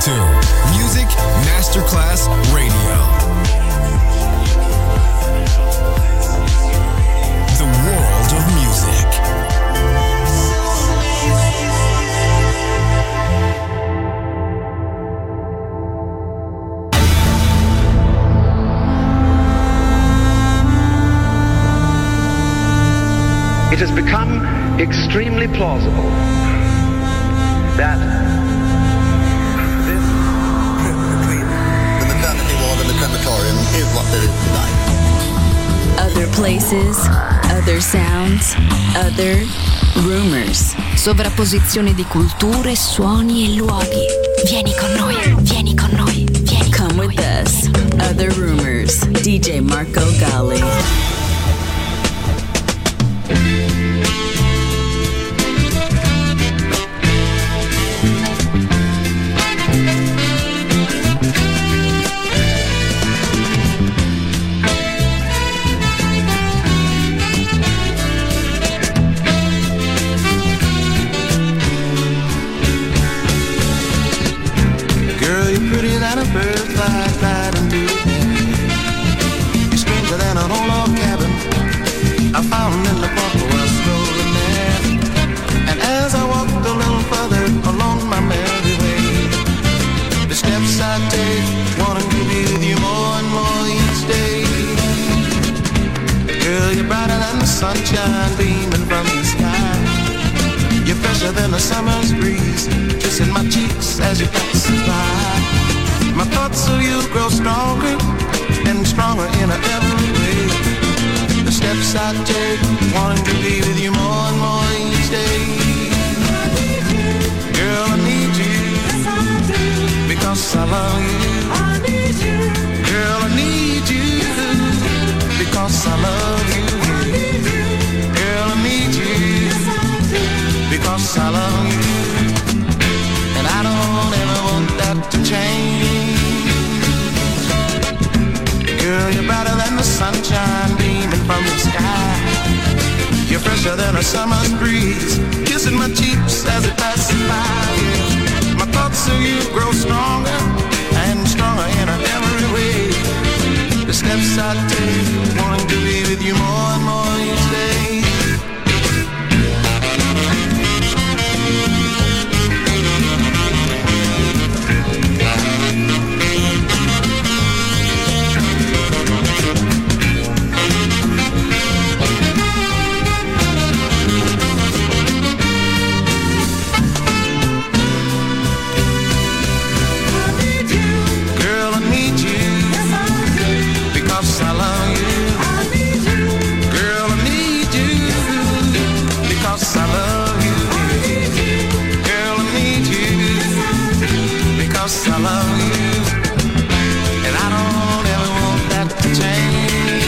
to Music Masterclass Radio. The world of music. It has become extremely plausible that this between the maternity ward and the crematorium is what there is tonight. Other places, other sounds, other rumors. Sovrapposizione di culture, suoni e luoghi. Vieni con noi, vieni con noi, vieni. Come with us. Other rumors. DJ Marco Gally. Sunshine beaming from the sky. You're fresher than a summer's breeze, kissing my cheeks as you pass by. My thoughts of you grow stronger and stronger in every way. The steps I take, wanting to be with you more and more each day. Girl, I need you, yes, I do, because I love you. I need you. Girl, I need you, because I love you. Because I love you, and I don't ever want that to change. Girl, you're brighter than the sunshine beaming from the sky. You're fresher than a summer's breeze, kissing my cheeks as it passes by. Yeah. My thoughts of you grow stronger and stronger in every way. The steps I take, wanting to be with you more and more each day. I love you, and I don't ever want that to change.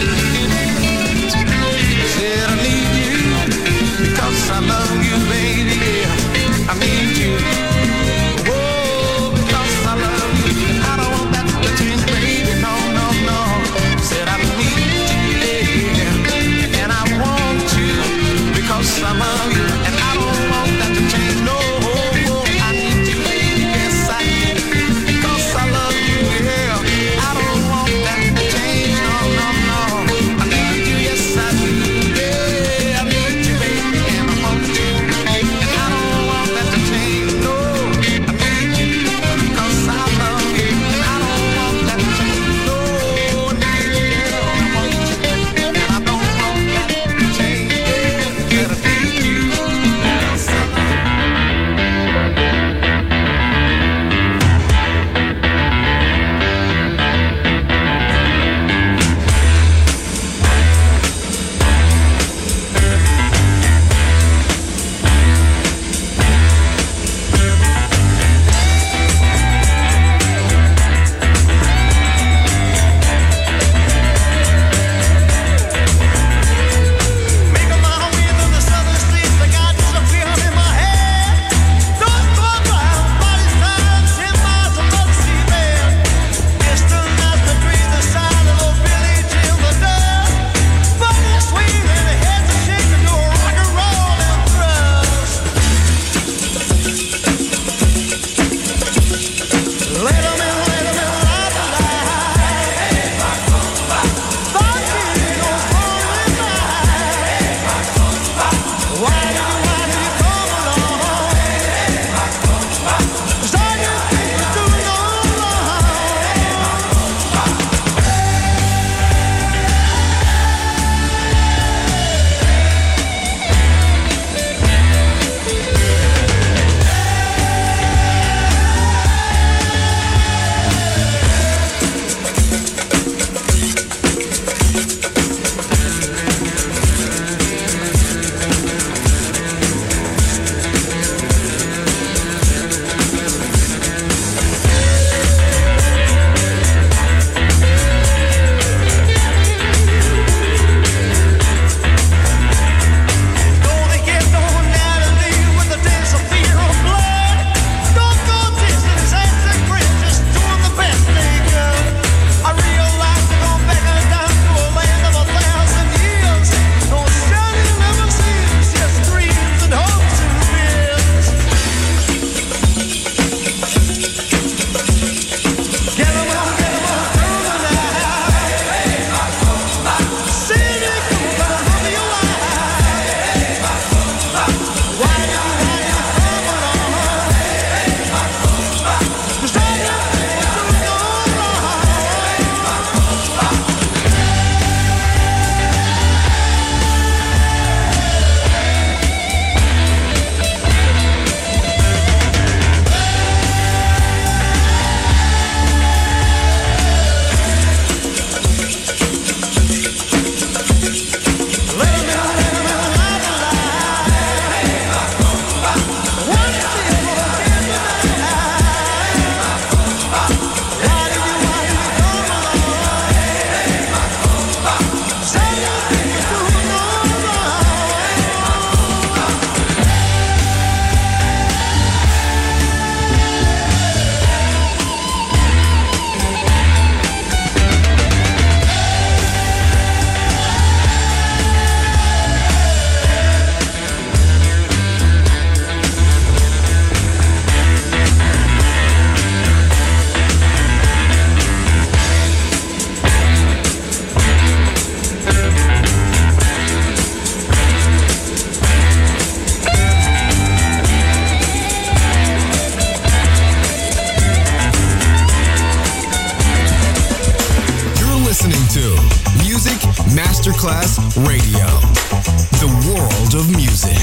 Said I need you, because I love you, baby. I need you, oh, because I love you, and I don't want that to change, baby. No, no, no. Said I need you, and I want you, because I love you, and I don't want that to change. No. I need you, baby, yes I need you. Masterclass Radio. The world of music.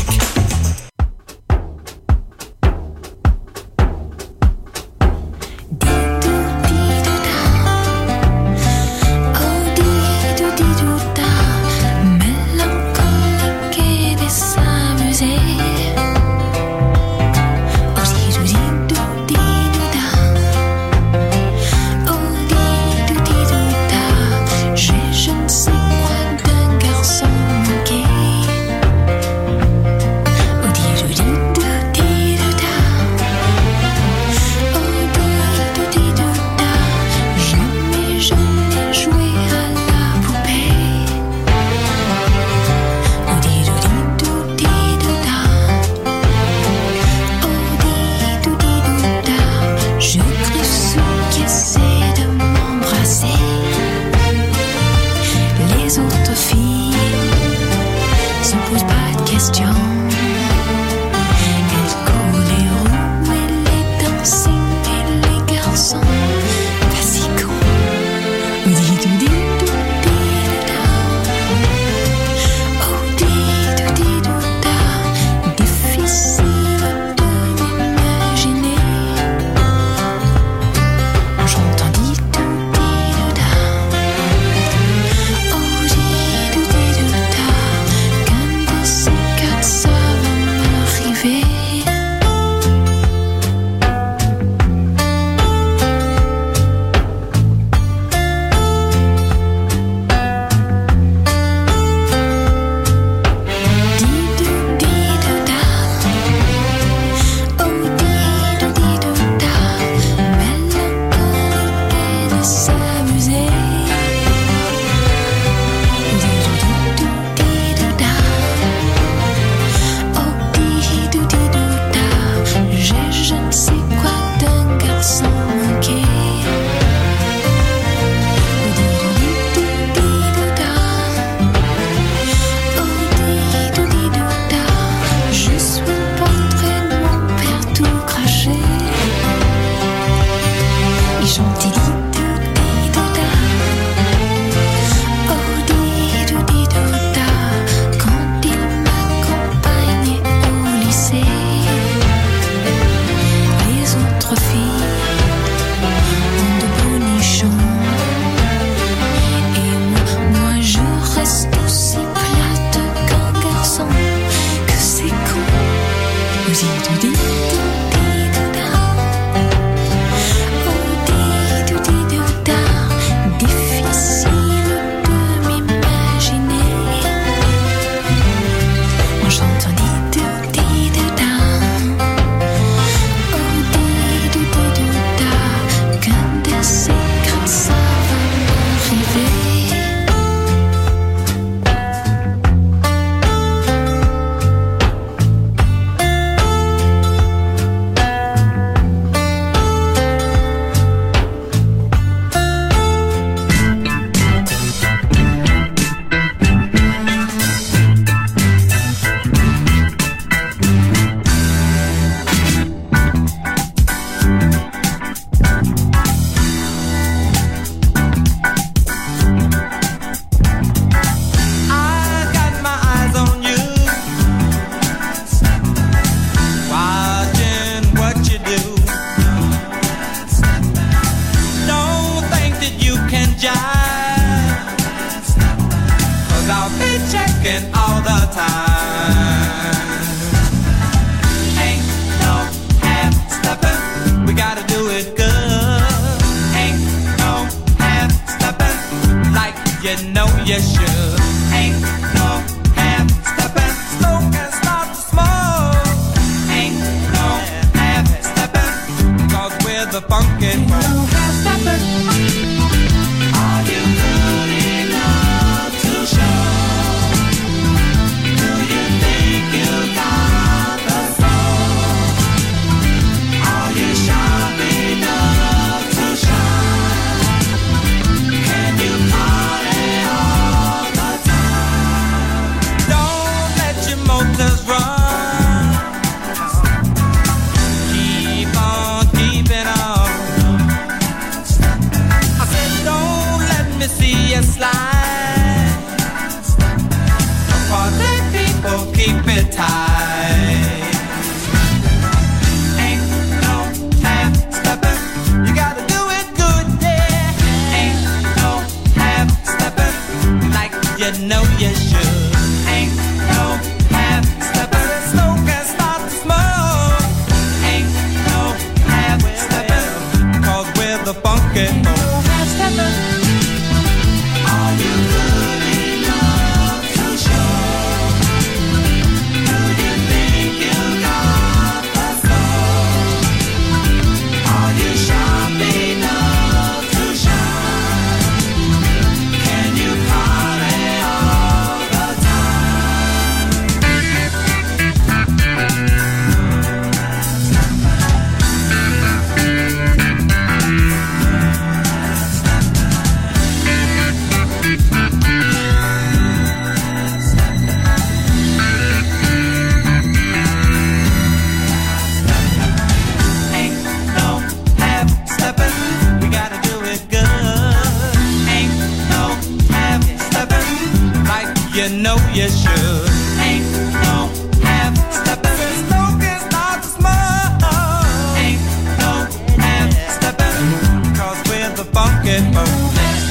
you should. Ain't no half-stepping. Smoke is not to smoke. Ain't no half-stepping. 'Cause we're the funky folks.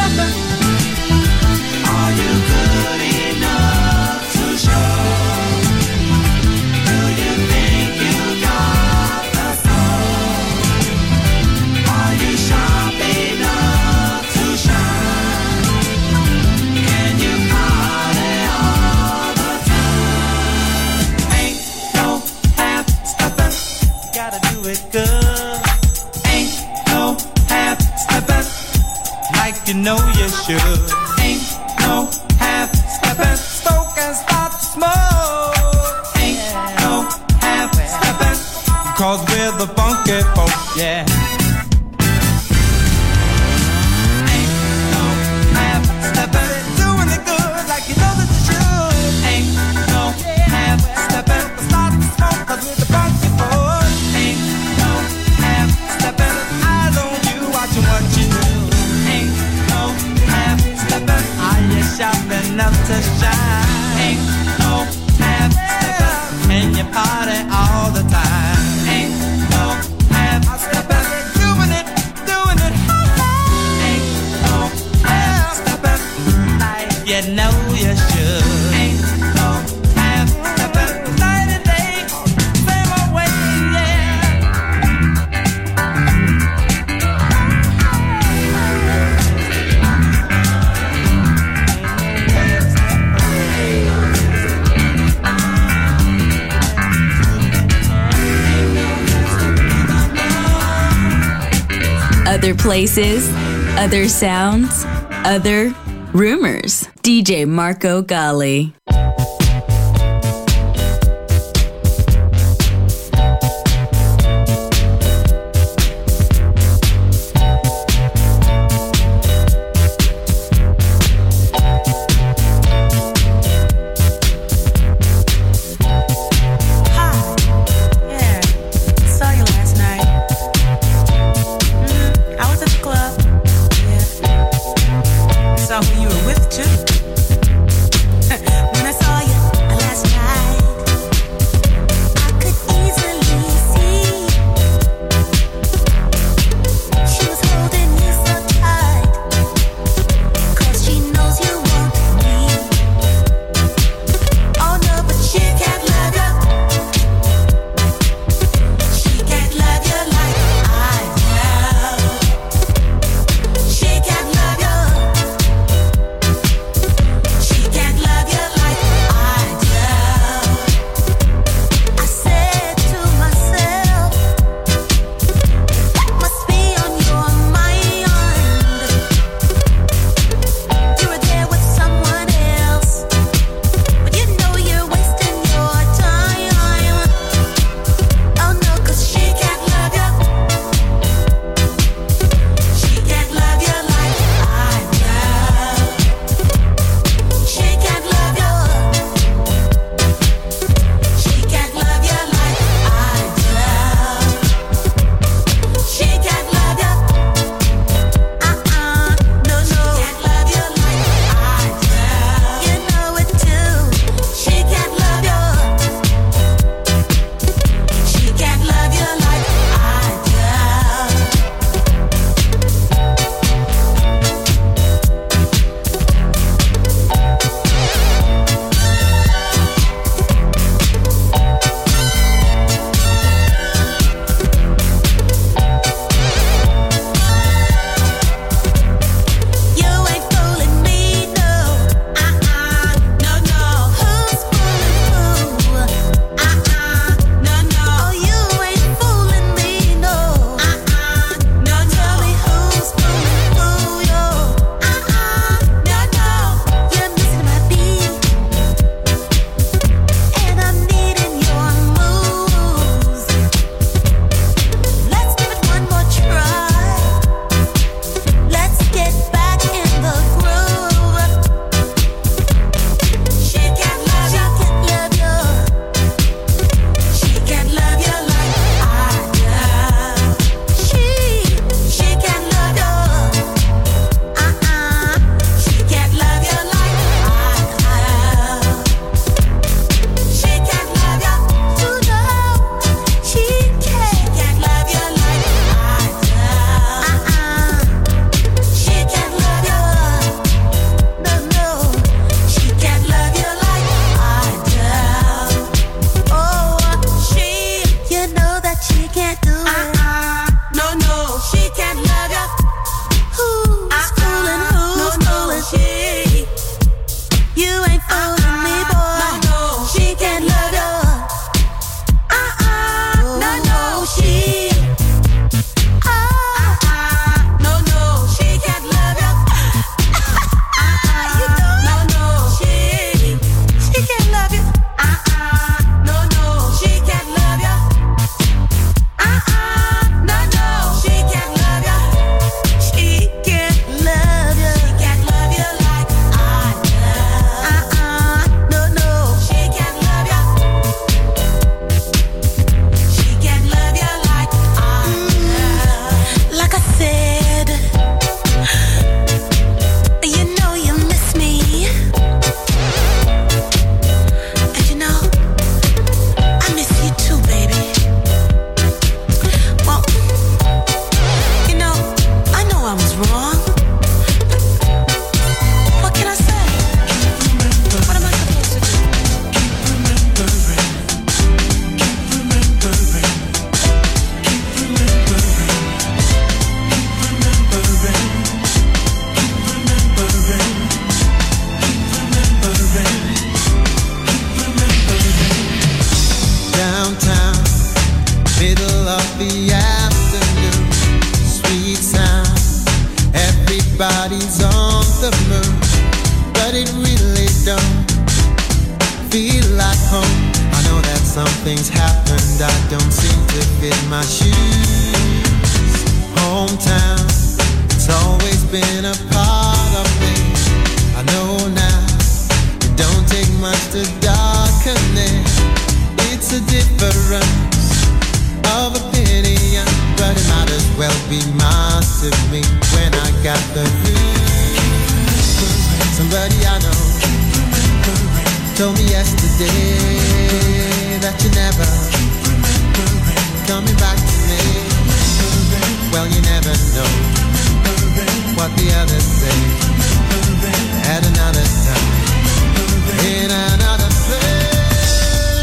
Are you good enough to show? Do you think you got the soul? Are you sharp enough to shine? Can you party all the time? Ain't no half-stepping. Gotta do it good. Ain't no half-stepping. Like you know you should. Ain't no half-stepping. Stoke and start to smoke. Ain't no half-stepping. 'Cause we're the funky folks, yeah. Ain't no half-stepping. Doing it good like you know that you should. Ain't no half-stepping. Start to smoke 'cause we're the funky folks. Ain't no half-stepping. Eyes on you watching what you do. Ain't no half-stepping. Are you sharp enough to shine? Ain't no half-stepping. Can you party all the time? Ain't no half-stepping. Doing it, ain't no half-stepping. Like you know you should. Ain't no half-stepping. Night and day, same old way, yeah. Other places, other sounds, other rumors. DJ Marco Gally. Who you were with too. middle of the afternoon. Sweet sound, everybody's on the move, but it really don't feel like home. I know that something's happened, I don't seem to fit my shoes. Hometown, it's always been a part of me. I know now, it don't take much to darken it. It's a difference of opinion, but it might as well be mine to me when I got the news. Somebody I know told me yesterday that you're never coming back to me. Well, you never know what the others say at another time, in another place.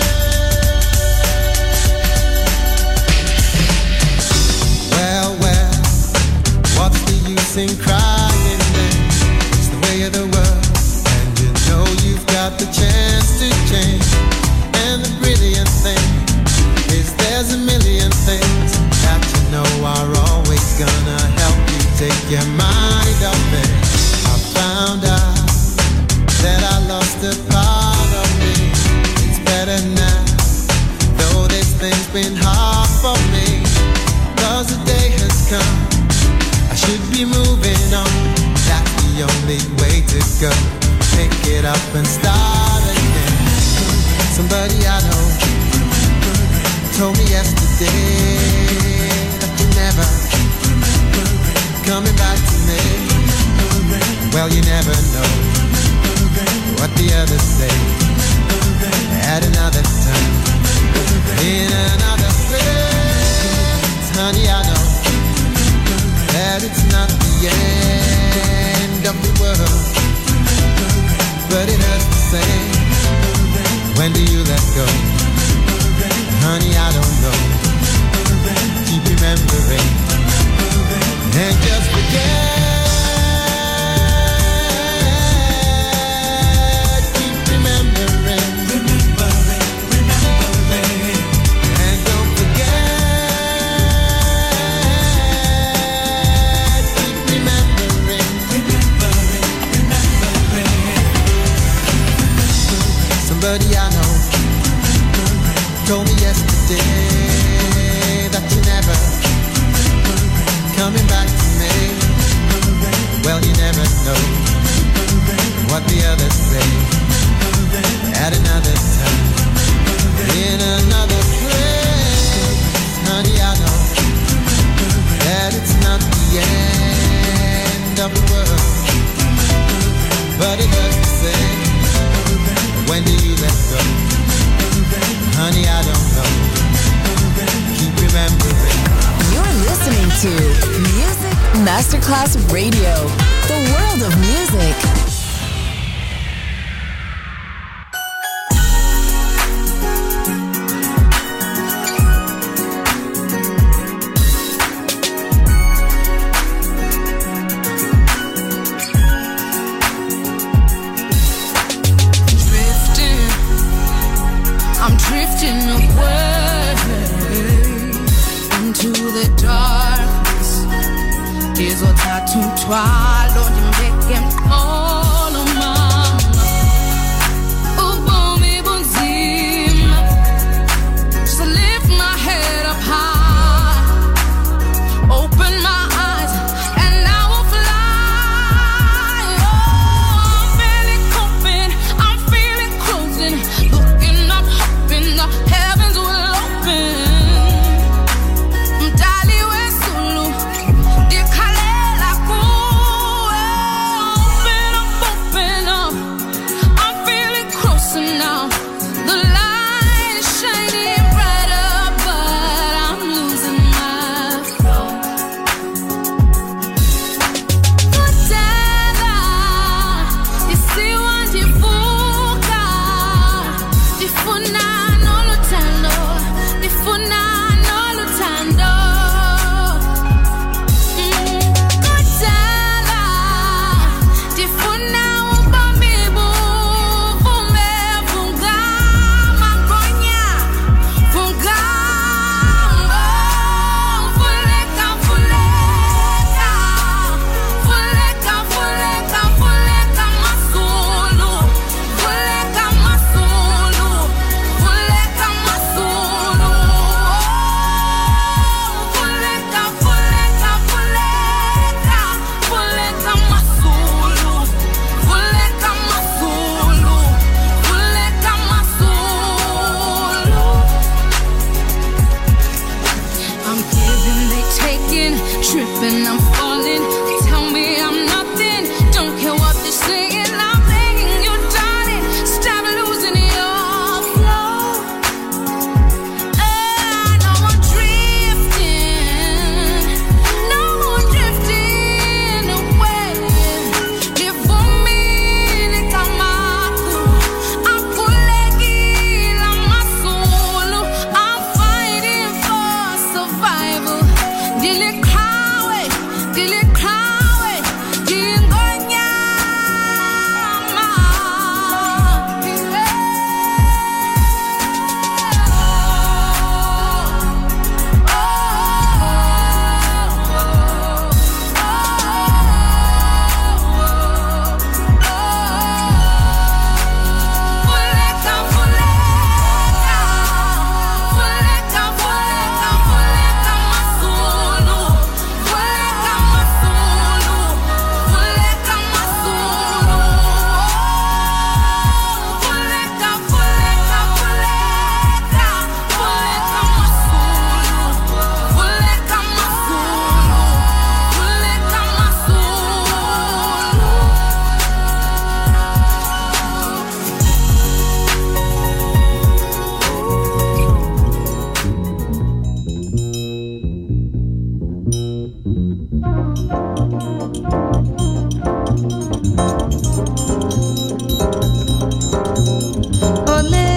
Well, what's the use in crying then? It's the way of the world, and you know you've got the chance to change. And the brilliant thing is there's a million things that you know are always gonna help you take your mind off it. I found out that I lost a part of me. It's better now, though this thing's been hard for me. 'Cause the day has come, I should be moving on. That's the only way to go. Pick it up and start again. Somebody I know told me yesterday that you're never coming back to me. Well, you never know what the others say at another time, in another place. Honey, I know that it's not the end of the world, but it hurts the same. When do you let go? Honey, I don't know. Keep remembering and just forget. Keep remembering, and don't forget. Keep remembering. Somebody I know told me yesterday that you're never coming back to me. Well, you never know what the others say at another time, in another place. Honey, I know that it's not the end of the world, but it hurts to say. When do you let go? Honey, I don't know. Keep remembering. You're listening to Music Masterclass Radio, the world of music. I'm drifting away into the darkness. Izothatha umthwalo ndimbeke mqolo mama. Ubomi bunzima, just lift my head up high, open my eyes and I will fly. Oh, I'm feeling coping, I'm feeling closing, looking up, hoping the heavens will open. Mdali wesulu, dikhalela kuwe. tripping, I'm falling. Tell me I'm nothing, don't care what they're saying. I'm begging you, darling, stop losing your flow. No more drifting, no more drifting away. Live for me, Nikamaku. Akulegi la masulu. I'm fighting for survival. Dile kawe, dingonyama. Fuleka, masulu. Fuleka, masulu. Fuleka, masulu. Fuleka, masulu. Fuleka, masulu. Fuleka, Olé,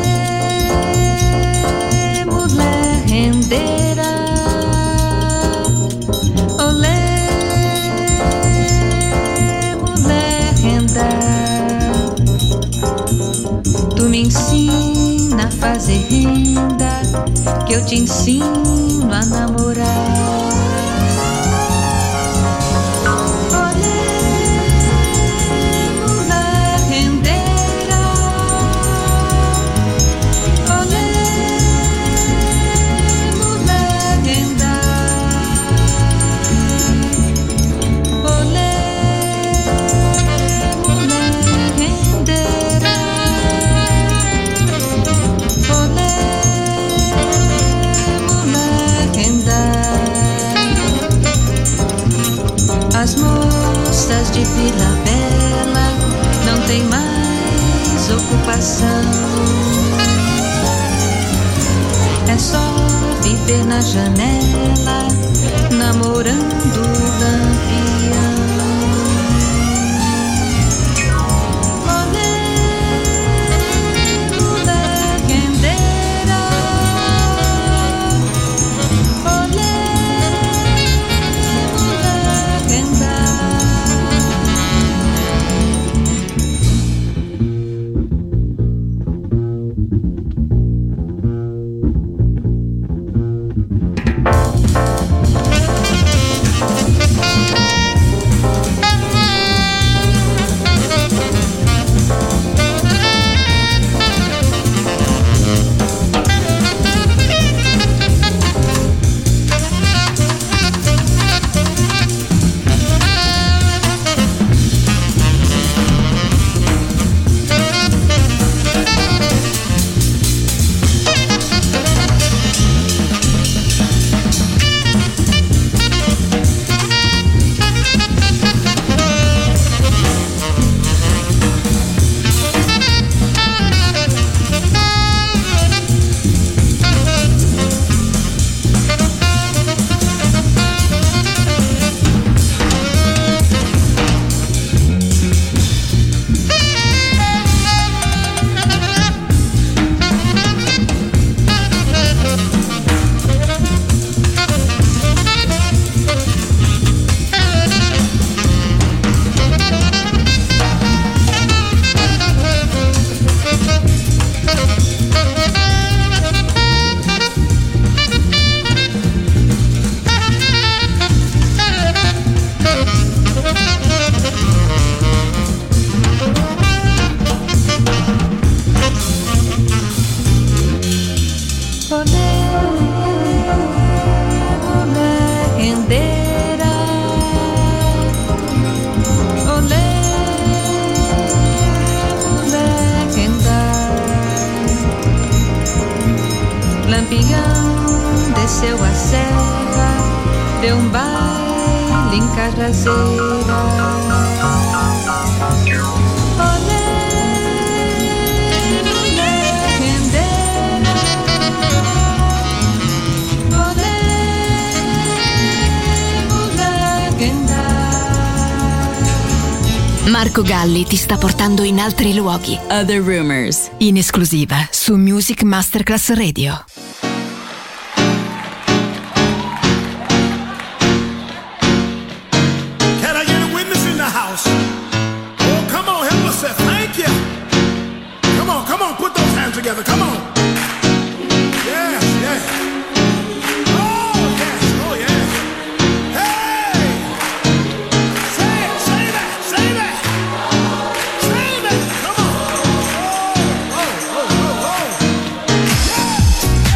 mulher rendeira. Olé, mulher renda. Tu me ensina a fazer renda, que eu te ensino a namorar. Olé, mulher rendeira. Olé, mulher renda. Olé, mulher rendeira. Olé, mulher renda. As moças de Vila Bela não têm mais ocupação. É só viver na janela, namorando o lampião. Olé, mulher rendeira. Olé, mulher renda. Lampião desceu a serra, deu um baile em Cajazeira. Olé, olé, rendeira. Olé, olé, rendeira. Marco Galli ti sta portando in altri luoghi. Other Rumors, in esclusiva su Music Masterclass Radio. Together, come on. Yes, yes. Oh, yes, oh, yes. Hey! Say it, say that, say that. Say that, come on. Oh, oh, oh, oh, oh. Yeah.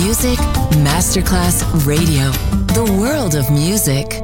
Music Masterclass Radio. The world of music.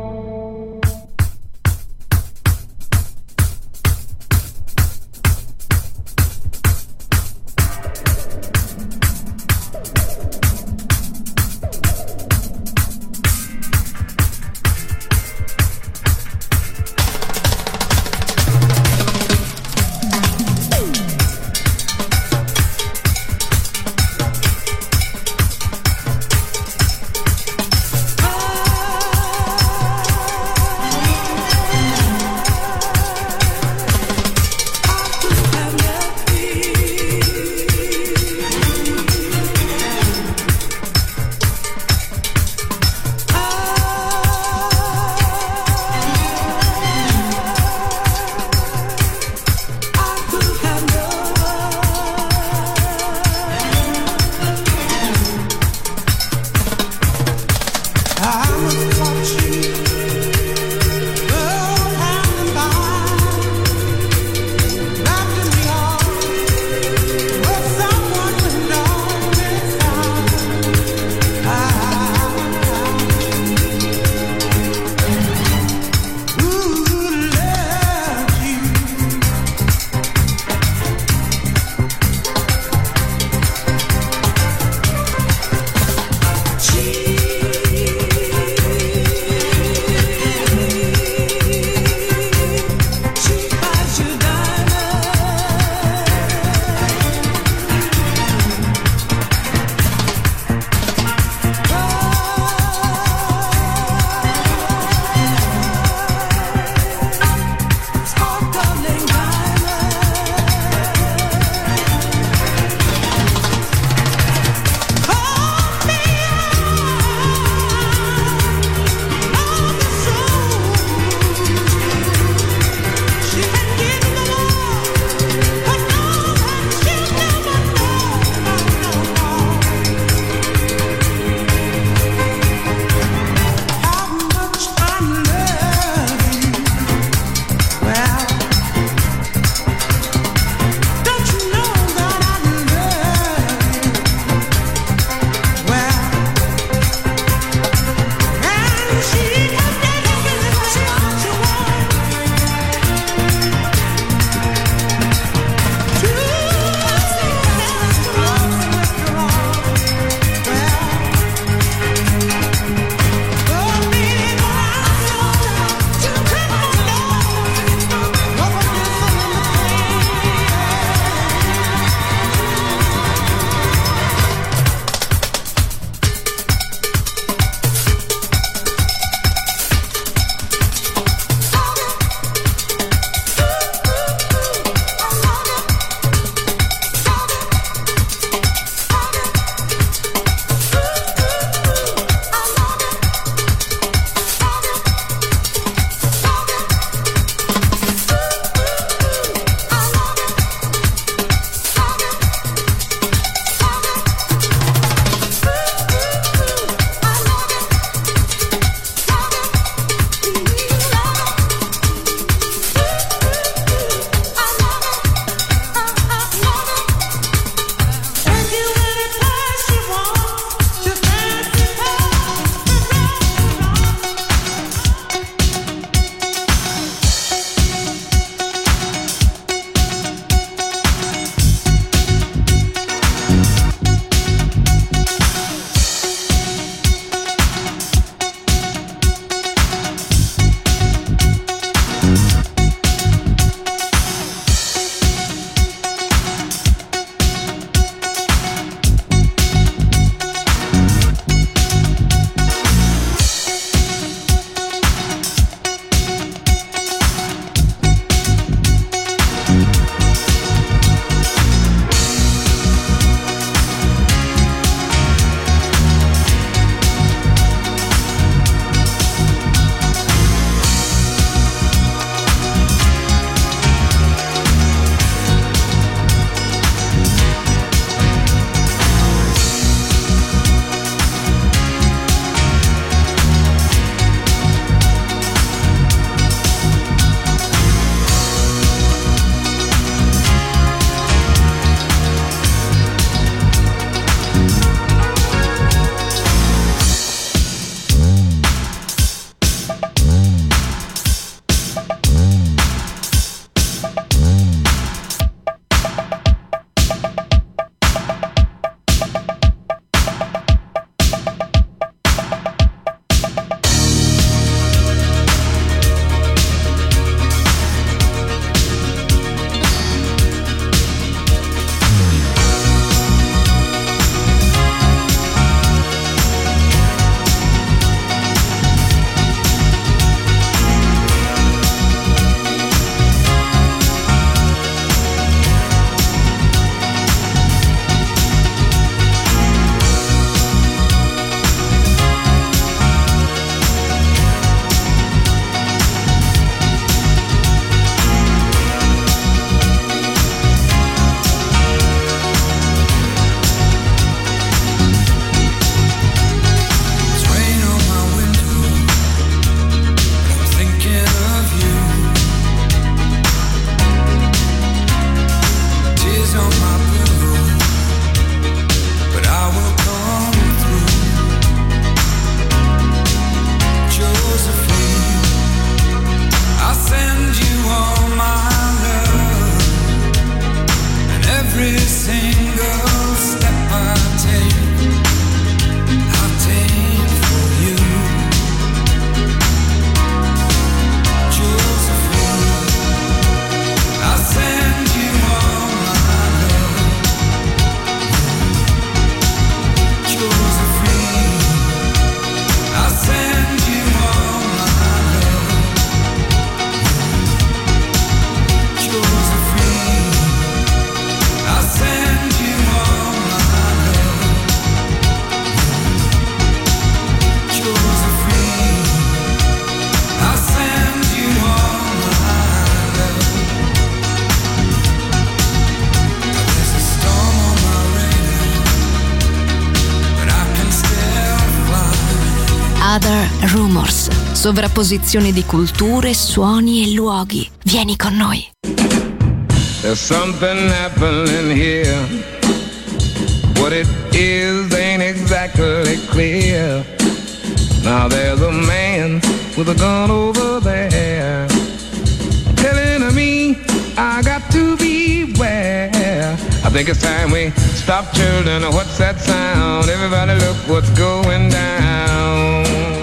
Rumors, sovrapposizione di culture, suoni e luoghi. Vieni con noi. There's something happening here. What it is ain't exactly clear. Now there's a man with a gun over there telling me I got to beware. I think it's time we stop, children. What's that sound? Everybody look what's going down.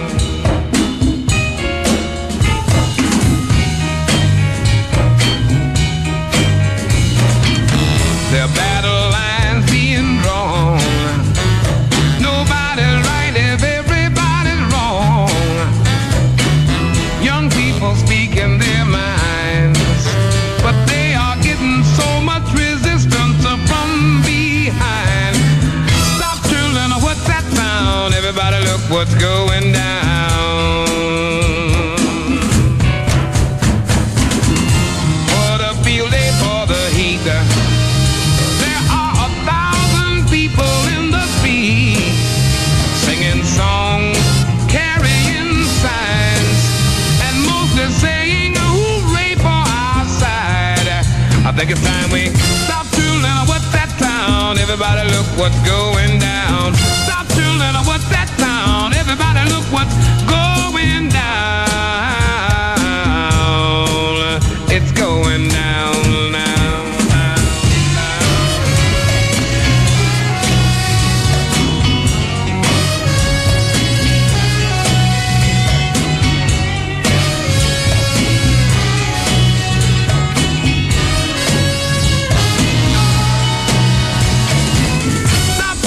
There are battle lines being drawn. Nobody's right if everybody's wrong. Young people speaking their minds, but they are getting so much resistance from behind. Stop, children, what's that sound? Everybody look what's going down. For the field day, for the heat, there are 1,000 people in the street, singing songs, carrying signs, and mostly saying hooray for our side. I think it's time we stop, children, what's that sound? Everybody look what's going down. Stop, children, what's that sound? Everybody look what's going down. It's going down now. Stop,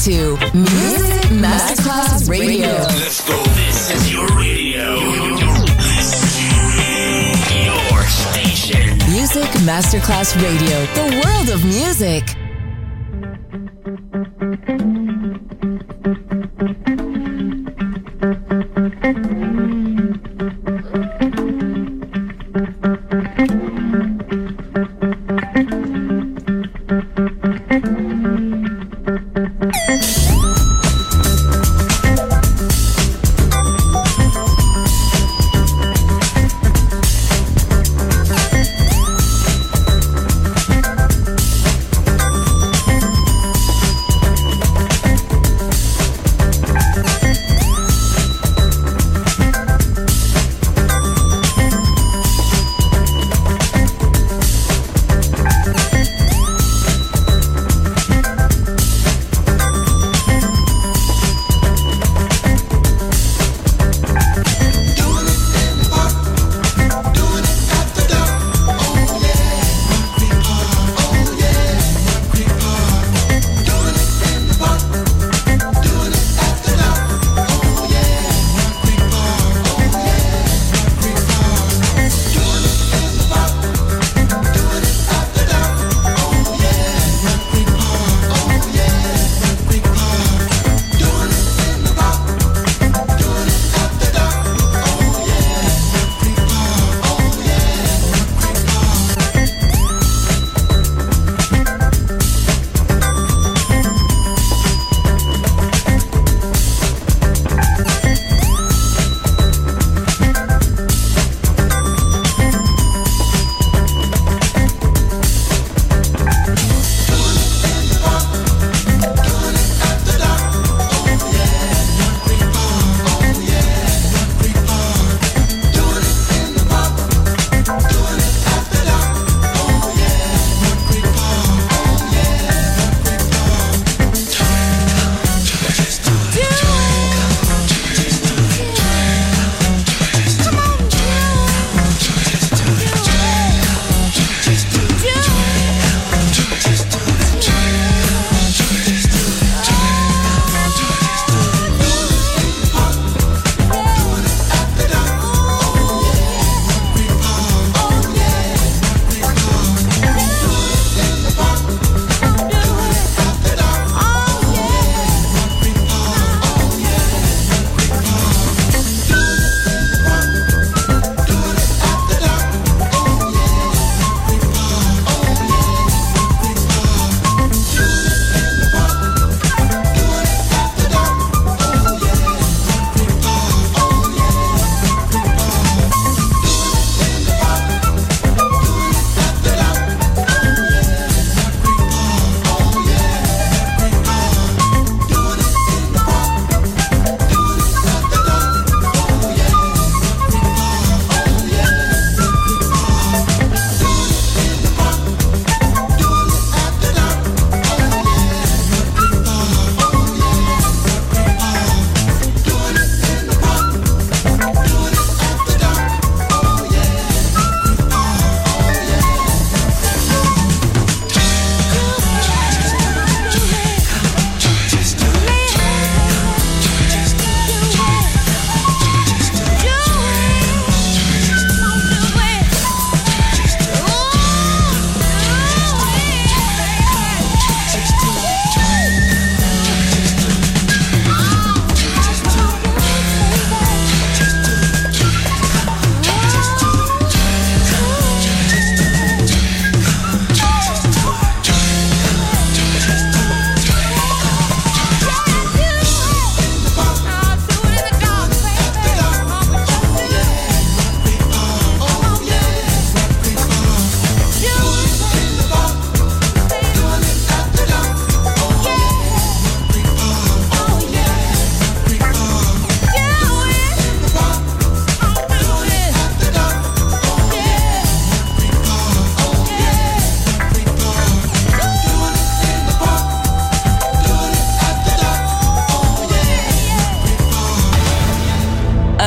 to Music Masterclass Radio. Let's go. This is your radio. Your station. Music Masterclass Radio. The world of music.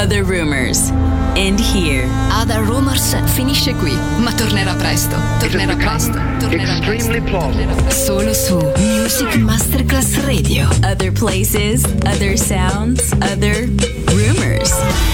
Other Rumors. And here. Other Rumors finisce qui, ma tornerà presto. Tornerà presto. Extremely plausible. Solo su Music Masterclass Radio. Other places, other sounds, other rumors.